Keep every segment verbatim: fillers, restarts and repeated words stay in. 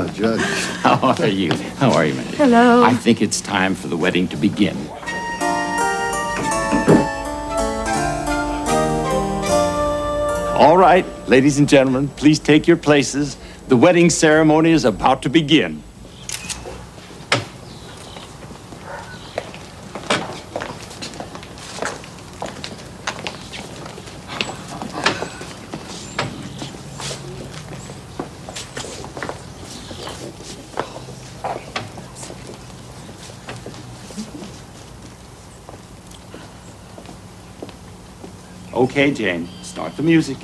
Ah, Judge. How are you? How are you, Mary? Hello. I think it's time for the wedding to begin. All right, ladies and gentlemen, please take your places. The wedding ceremony is about to begin. Okay, Jane, start the music.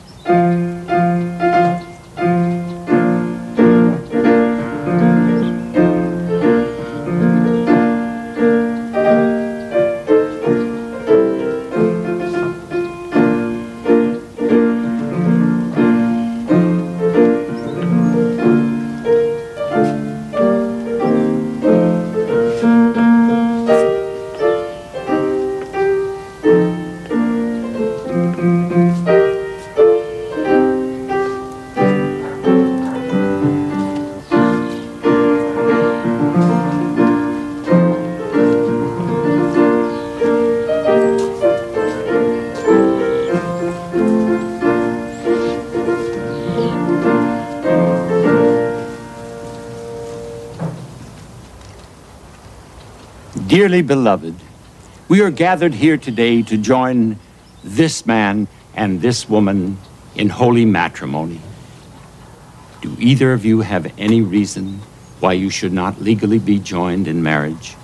Dearly beloved, we are gathered here today to join this man and this woman in holy matrimony. Do either of you have any reason why you should not legally be joined in marriage?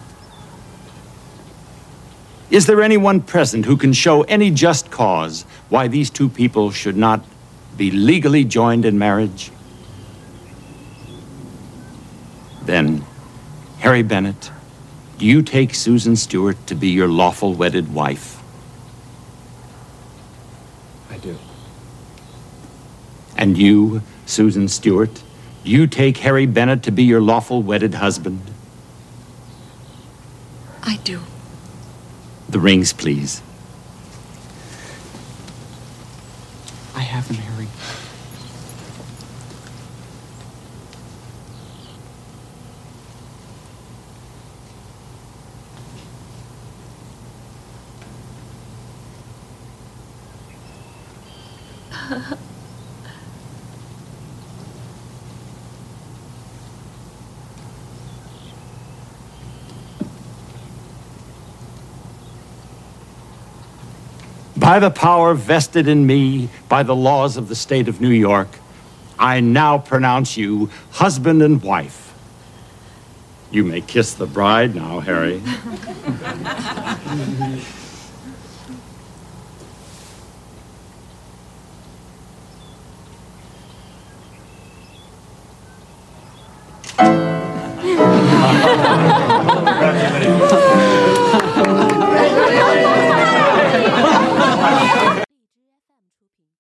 Is there anyone present who can show any just cause why these two people should not be legally joined in marriage? Then, Harry Bennett, do you take Susan Stewart to be your lawful wedded wife? I do. And you, Susan Stewart, do you take Harry Bennett to be your lawful wedded husband? I do. The rings, please. I have them, Harry. By the power vested in me by the laws of the state of New York, I now pronounce you husband and wife. You may kiss the bride now, Harry.